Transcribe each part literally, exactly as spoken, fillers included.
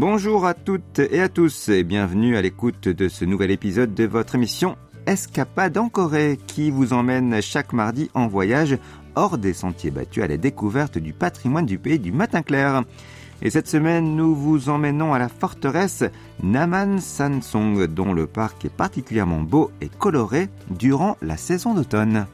Bonjour à toutes et à tous et bienvenue à l'écoute de ce nouvel épisode de votre émission Escapade en Corée qui vous emmène chaque mardi en voyage hors des sentiers battus à la découverte du patrimoine du pays du matin clair. Et cette semaine, nous vous emmenons à la forteresse Naman-Sansong, dont le parc est particulièrement beau et coloré durant la saison d'automne.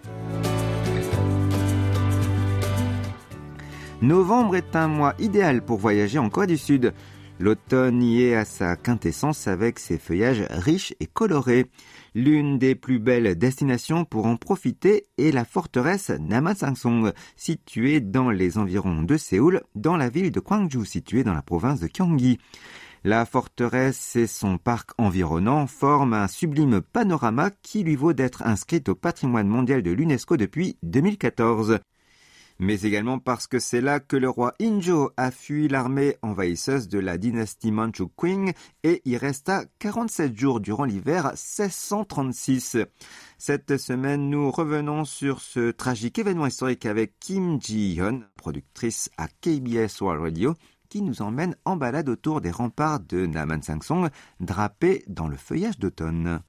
Novembre est un mois idéal pour voyager en Corée du Sud. L'automne y est à sa quintessence avec ses feuillages riches et colorés. L'une des plus belles destinations pour en profiter est la forteresse Naman-Sansong, située dans les environs de Séoul, dans la ville de Gwangju, située dans la province de Gyeonggi. La forteresse et son parc environnant forment un sublime panorama qui lui vaut d'être inscrite au patrimoine mondial de l'UNESCO depuis deux mille quatorze. Mais également parce que c'est là que le roi Injo a fui l'armée envahisseuse de la dynastie Manchu Qing et y resta quarante-sept jours durant l'hiver seize cent trente-six. Cette semaine, nous revenons sur ce tragique événement historique avec Kim Ji-hyun, productrice à K B S World Radio, qui nous emmène en balade autour des remparts de Naman-Sansong, drapés dans le feuillage d'automne.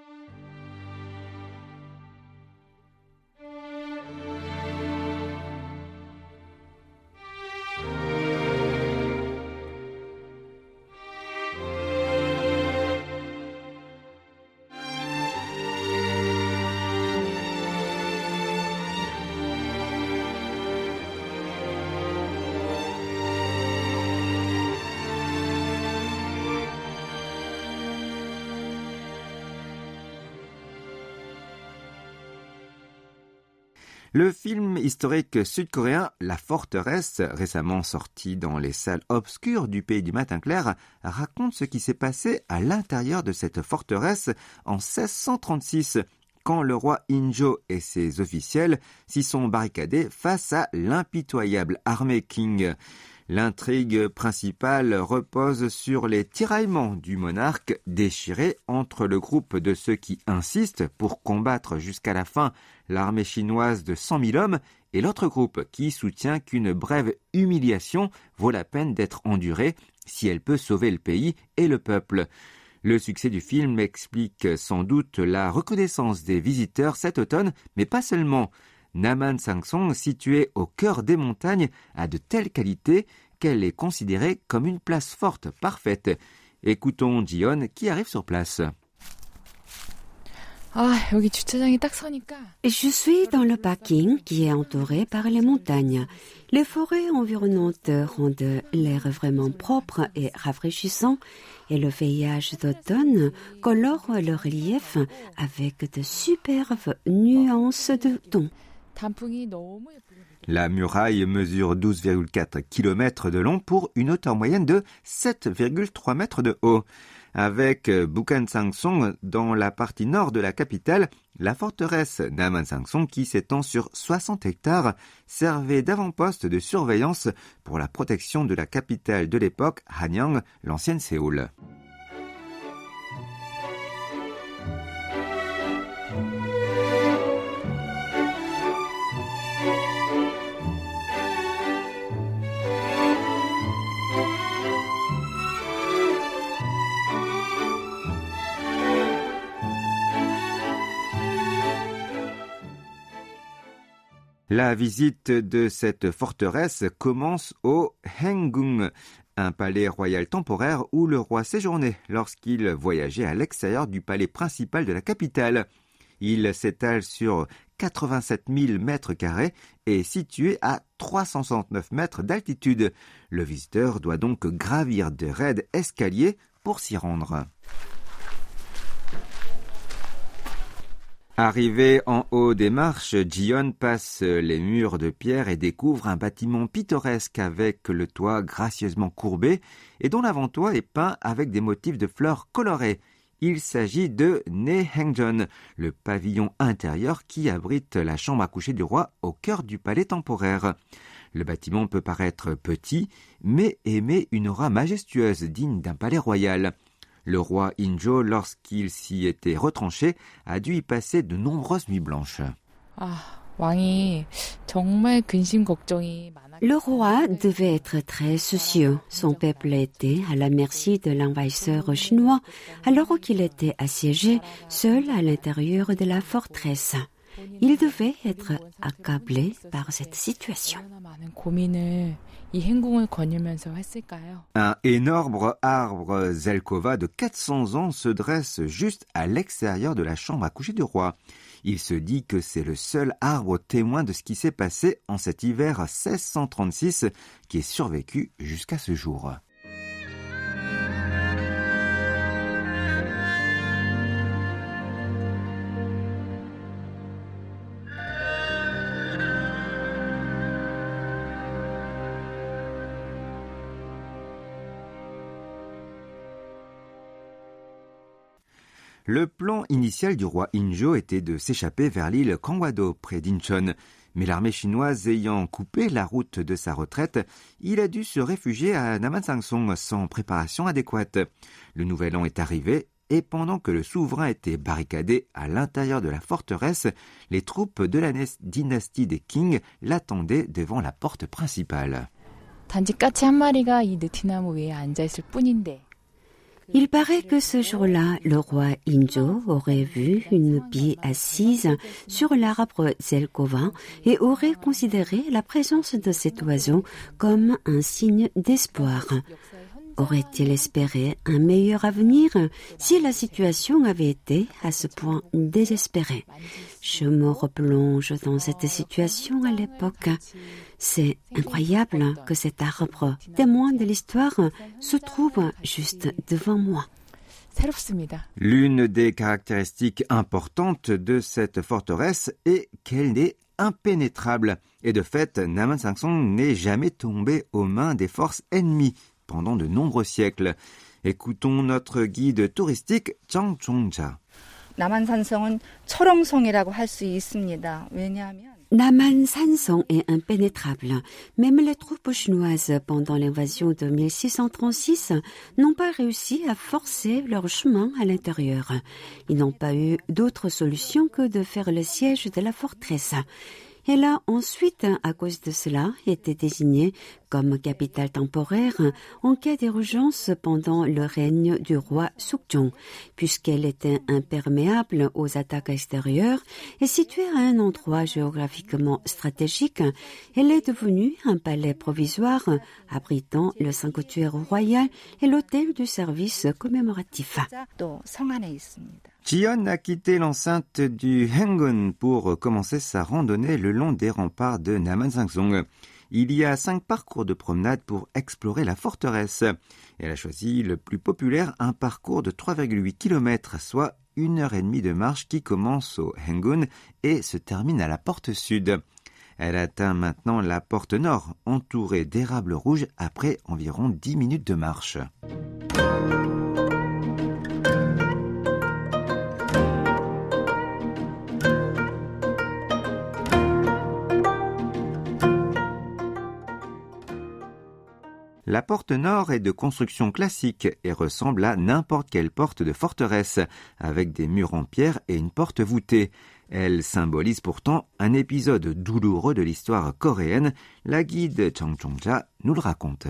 Le film historique sud-coréen La Forteresse, récemment sorti dans les salles obscures du pays du matin clair, raconte ce qui s'est passé à l'intérieur de cette forteresse en seize cent trente-six, quand le roi Injo et ses officiels s'y sont barricadés face à l'impitoyable armée Qing. L'intrigue principale repose sur les tiraillements du monarque déchiré entre le groupe de ceux qui insistent pour combattre jusqu'à la fin l'armée chinoise de cent mille hommes et l'autre groupe qui soutient qu'une brève humiliation vaut la peine d'être endurée si elle peut sauver le pays et le peuple. Le succès du film explique sans doute la reconnaissance des visiteurs cet automne, mais pas seulement. Naman-Sansong, située au cœur des montagnes, a de telles qualités qu'elle est considérée comme une place forte parfaite. Écoutons Ji-hyun qui arrive sur place. Je suis dans le parking qui est entouré par les montagnes. Les forêts environnantes rendent l'air vraiment propre et rafraîchissant et le feuillage d'automne colore le relief avec de superbes nuances de tons. La muraille mesure douze virgule quatre kilomètres de long pour une hauteur moyenne de sept virgule trois mètres de haut. Avec Bukhan-Sangsong dans la partie nord de la capitale, la forteresse Naman-Sansong qui s'étend sur soixante hectares servait d'avant-poste de surveillance pour la protection de la capitale de l'époque, Hanyang, l'ancienne Séoul. La visite de cette forteresse commence au Haengung, un palais royal temporaire où le roi séjournait lorsqu'il voyageait à l'extérieur du palais principal de la capitale. Il s'étale sur quatre-vingt-sept mille mètres carrés et est situé à trois cent soixante-neuf mètres d'altitude. Le visiteur doit donc gravir de raides escaliers pour s'y rendre. Arrivé en haut des marches, Ji-hyun passe les murs de pierre et découvre un bâtiment pittoresque avec le toit gracieusement courbé et dont l'avant-toit est peint avec des motifs de fleurs colorées. Il s'agit de Naehaengjeon, le pavillon intérieur qui abrite la chambre à coucher du roi au cœur du palais temporaire. Le bâtiment peut paraître petit, mais émet une aura majestueuse digne d'un palais royal. Le roi Injo, lorsqu'il s'y était retranché, a dû y passer de nombreuses nuits blanches. Le roi devait être très soucieux. Son peuple était à la merci de l'envahisseur chinois alors qu'il était assiégé seul à l'intérieur de la forteresse. Il devait être accablé par cette situation. Un énorme arbre Zelkova de quatre cents ans se dresse juste à l'extérieur de la chambre à coucher du roi. Il se dit que c'est le seul arbre témoin de ce qui s'est passé en cet hiver seize cent trente-six qui est survécu jusqu'à ce jour. Le plan initial du roi Injo était de s'échapper vers l'île Kangwado, près d'Incheon. Mais l'armée chinoise ayant coupé la route de sa retraite, il a dû se réfugier à Namansangsong sans préparation adéquate. Le nouvel an est arrivé et pendant que le souverain était barricadé à l'intérieur de la forteresse, les troupes de la dynastie des Qing l'attendaient devant la porte principale. Il paraît que ce jour-là, le roi Injo aurait vu une bille assise sur l'arbre Zelkova et aurait considéré la présence de cet oiseau comme un signe d'espoir. Aurait-il espéré un meilleur avenir si la situation avait été à ce point désespérée? Je me replonge dans cette situation à l'époque. C'est incroyable que cet arbre, témoin de l'histoire, se trouve juste devant moi. L'une des caractéristiques importantes de cette forteresse est qu'elle est impénétrable. Et de fait, Namansangsong n'est jamais tombé aux mains des forces ennemies pendant de nombreux siècles. Écoutons notre guide touristique Chang Chong-ja. 남한산성은 철옹성이라고 할 수 있습니다. 왜냐하면 Namansangsong est impénétrable. Même les troupes chinoises, pendant l'invasion de mille six cent trente-six, n'ont pas réussi à forcer leur chemin à l'intérieur. Ils n'ont pas eu d'autre solution que de faire le siège de la forteresse. Elle a ensuite, à cause de cela, été désignée comme capitale temporaire en cas d'urgence pendant le règne du roi Sukjong, puisqu'elle était imperméable aux attaques extérieures et située à un endroit géographiquement stratégique. Elle est devenue un palais provisoire abritant le sanctuaire royal et l'hôtel du service commémoratif. Jiyeon a quitté l'enceinte du Hengun pour commencer sa randonnée le long des remparts de Namansangsong. Il y a cinq parcours de promenade pour explorer la forteresse. Elle a choisi le plus populaire, un parcours de trois virgule huit kilomètres, soit une heure et demie de marche qui commence au Hengun et se termine à la porte sud. Elle atteint maintenant la porte nord, entourée d'érables rouges après environ dix minutes de marche. La porte nord est de construction classique et ressemble à n'importe quelle porte de forteresse, avec des murs en pierre et une porte voûtée. Elle symbolise pourtant un épisode douloureux de l'histoire coréenne. La guide Chang Chong-ja nous le raconte.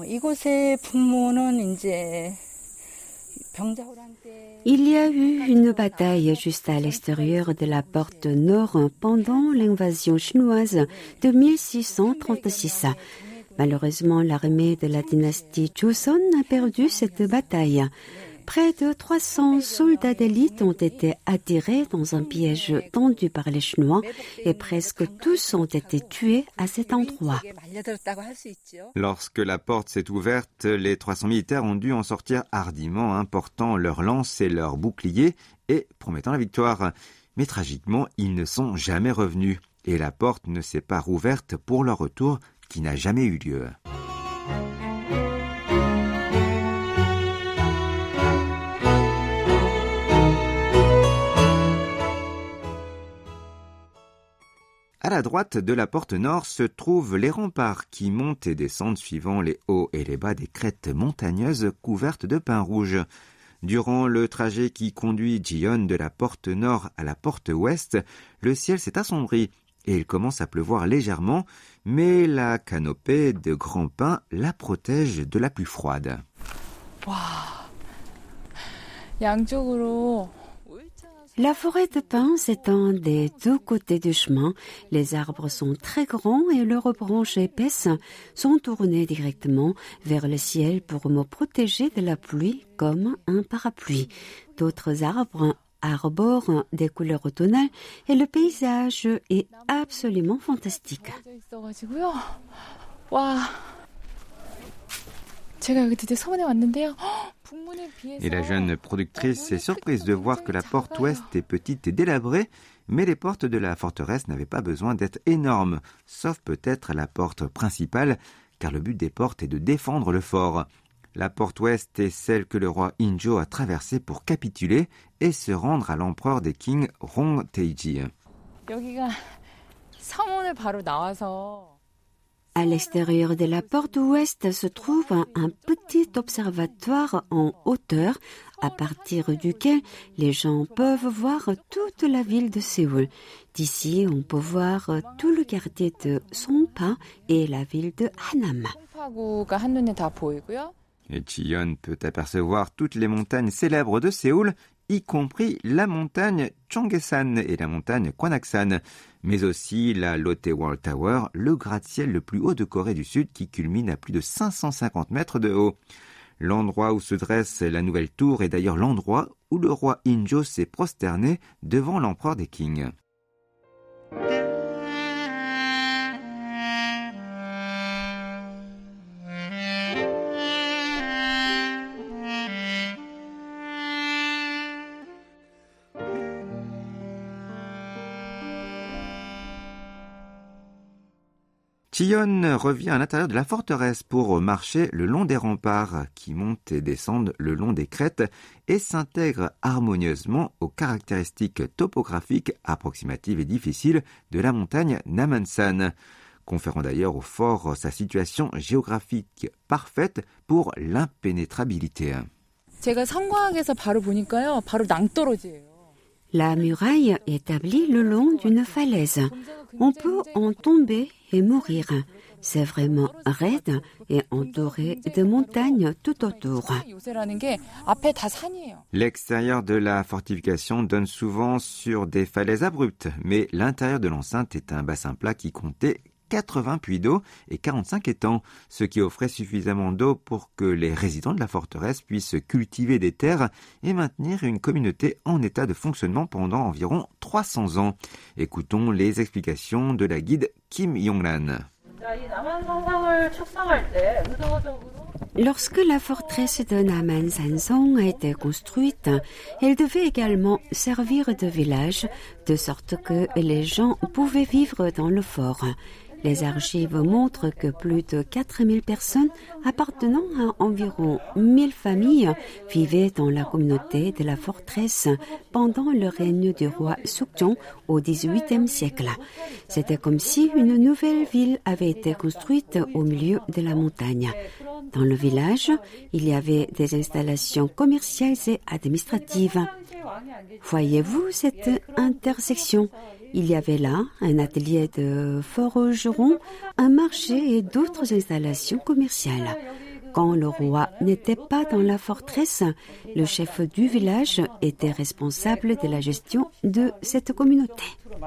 Il y a eu une bataille juste à l'extérieur de la porte nord pendant l'invasion chinoise de mille six cent trente-six. Malheureusement, l'armée de la dynastie Joseon a perdu cette bataille. Près de trois cents soldats d'élite ont été attirés dans un piège tendu par les Chinois et presque tous ont été tués à cet endroit. Lorsque la porte s'est ouverte, les trois cents militaires ont dû en sortir hardiment, hein, portant leurs lances et leurs boucliers et promettant la victoire. Mais tragiquement, ils ne sont jamais revenus et la porte ne s'est pas rouverte pour leur retour qui n'a jamais eu lieu. À la droite de la porte nord se trouvent les remparts qui montent et descendent suivant les hauts et les bas des crêtes montagneuses couvertes de pins rouges. Durant le trajet qui conduit Jiyeon de la porte nord à la porte ouest, le ciel s'est assombri et il commence à pleuvoir légèrement, mais la canopée de grands pins la protège de la pluie froide. 와, 양쪽으로 La forêt de pins s'étend des deux côtés du chemin. Les arbres sont très grands et leurs branches épaisses sont tournées directement vers le ciel pour me protéger de la pluie comme un parapluie. D'autres arbres arborent des couleurs automnales et le paysage est absolument fantastique. 있어가지고요. 와, 제가 여기 드디어 서원에 왔는데요. Et la jeune productrice est surprise de voir que la porte ouest est petite et délabrée, mais les portes de la forteresse n'avaient pas besoin d'être énormes, sauf peut-être la porte principale, car le but des portes est de défendre le fort. La porte ouest est celle que le roi Injo a traversée pour capituler et se rendre à l'empereur des Qing, Rong Taiji. 여기가 서문을 바로 나와서 À l'extérieur de la porte ouest se trouve un petit observatoire en hauteur à partir duquel les gens peuvent voir toute la ville de Séoul. D'ici, on peut voir tout le quartier de Songpa et la ville de Hanam. 송파구가 한눈에 다 보이고요. Et Chiyeon peut apercevoir toutes les montagnes célèbres de Séoul, y compris la montagne Cheonggyesan et la montagne Gwanaksan, mais aussi la Lotte World Tower, le gratte-ciel le plus haut de Corée du Sud qui culmine à plus de cinq cent cinquante mètres de haut. L'endroit où se dresse la nouvelle tour est d'ailleurs l'endroit où le roi Injo s'est prosterné devant l'empereur des Qing. Chiyeon revient à l'intérieur de la forteresse pour marcher le long des remparts qui montent et descendent le long des crêtes et s'intègrent harmonieusement aux caractéristiques topographiques approximatives et difficiles de la montagne Namansan, conférant d'ailleurs au fort sa situation géographique parfaite pour l'impénétrabilité. 제가 성곽에서 바로 보니까요, 바로 낭떠러지예요. La muraille est établie le long d'une falaise. On peut en tomber et mourir. C'est vraiment raide et entouré de montagnes tout autour. 요새라는 게 앞에 다 산이에요. L'extérieur de la fortification donne souvent sur des falaises abruptes, mais l'intérieur de l'enceinte est un bassin plat qui comptait quatre-vingts puits d'eau et quarante-cinq étangs, ce qui offrait suffisamment d'eau pour que les résidents de la forteresse puissent cultiver des terres et maintenir une communauté en état de fonctionnement pendant environ trois cents ans. Écoutons les explications de la guide Kim Yonglan. Lorsque la forteresse de Naman-Sansong a été construite, elle devait également servir de village, de sorte que les gens pouvaient vivre dans le fort. Les archives montrent que plus de quatre mille personnes appartenant à environ mille familles vivaient dans la communauté de la forteresse pendant le règne du roi Sukjong au dix-huitième siècle. C'était comme si une nouvelle ville avait été construite au milieu de la montagne. Dans le village, il y avait des installations commerciales et administratives. Voyez-vous cette intersection? Il y avait là un atelier de forgeron, un marché et d'autres installations commerciales. Quand le roi n'était pas dans la forteresse, le chef du village était responsable de la gestion de cette communauté.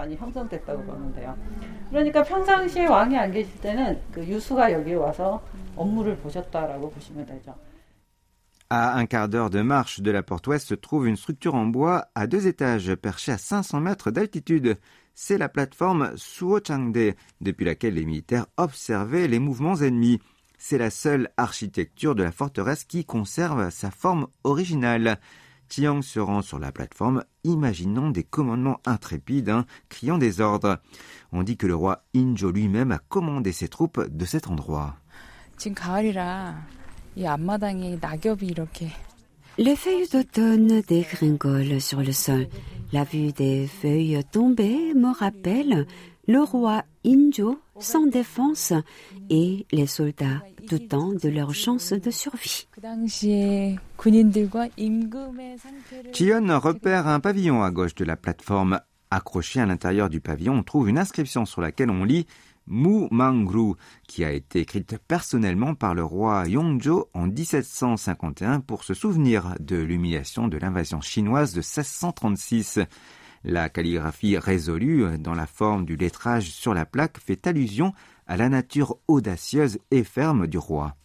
그러니까 평상시에 왕이 안 계실 때는 그 유수가 여기 와서 업무를 보셨다라고 보시면 되죠. À un quart d'heure de marche de la porte ouest se trouve une structure en bois à deux étages perchée à cinq cents mètres d'altitude. C'est la plateforme Suochangde, depuis laquelle les militaires observaient les mouvements ennemis. C'est la seule architecture de la forteresse qui conserve sa forme originale. Chiang se rend sur la plateforme, imaginant des commandements intrépides, hein, criant des ordres. On dit que le roi Injo lui-même a commandé ses troupes de cet endroit. 지금 가을이라 이 앞마당에 낙엽이 이렇게 Les feuilles d'automne dégringolent sur le sol. La vue des feuilles tombées me rappelle le roi Injo sans défense et les soldats doutant de leur chance de survie. 그 당시에 군인들과 임금의 상태를 Chiyeon repère un pavillon à gauche de la plateforme. Accrochée à l'intérieur du pavillon, on trouve une inscription sur laquelle on lit Mu Mangru, qui a été écrite personnellement par le roi Yongzhou en dix-sept cent cinquante et un pour se souvenir de l'humiliation de l'invasion chinoise de seize cent trente-six. La calligraphie résolue dans la forme du lettrage sur la plaque fait allusion à la nature audacieuse et ferme du roi.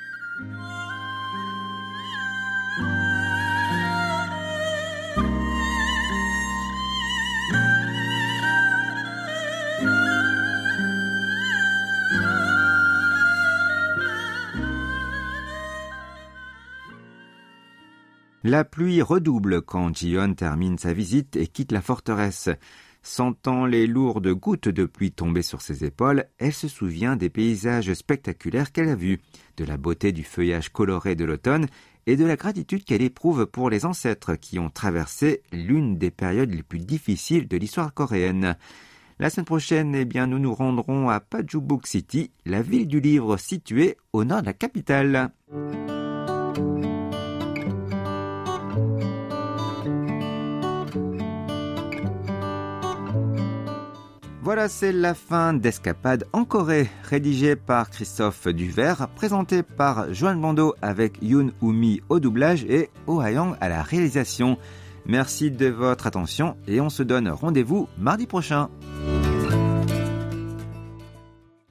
La pluie redouble quand Ji-yeon termine sa visite et quitte la forteresse. Sentant les lourdes gouttes de pluie tomber sur ses épaules, elle se souvient des paysages spectaculaires qu'elle a vus, de la beauté du feuillage coloré de l'automne et de la gratitude qu'elle éprouve pour les ancêtres qui ont traversé l'une des périodes les plus difficiles de l'histoire coréenne. La semaine prochaine, eh bien, nous nous rendrons à Pajubuk City, la ville du livre située au nord de la capitale. Voilà, c'est la fin d'Escapade en Corée, rédigée par Christophe Duvert, présentée par Joanne Bando avec Yoon Umi au doublage et Oh Ha-young à la réalisation. Merci de votre attention et on se donne rendez-vous mardi prochain.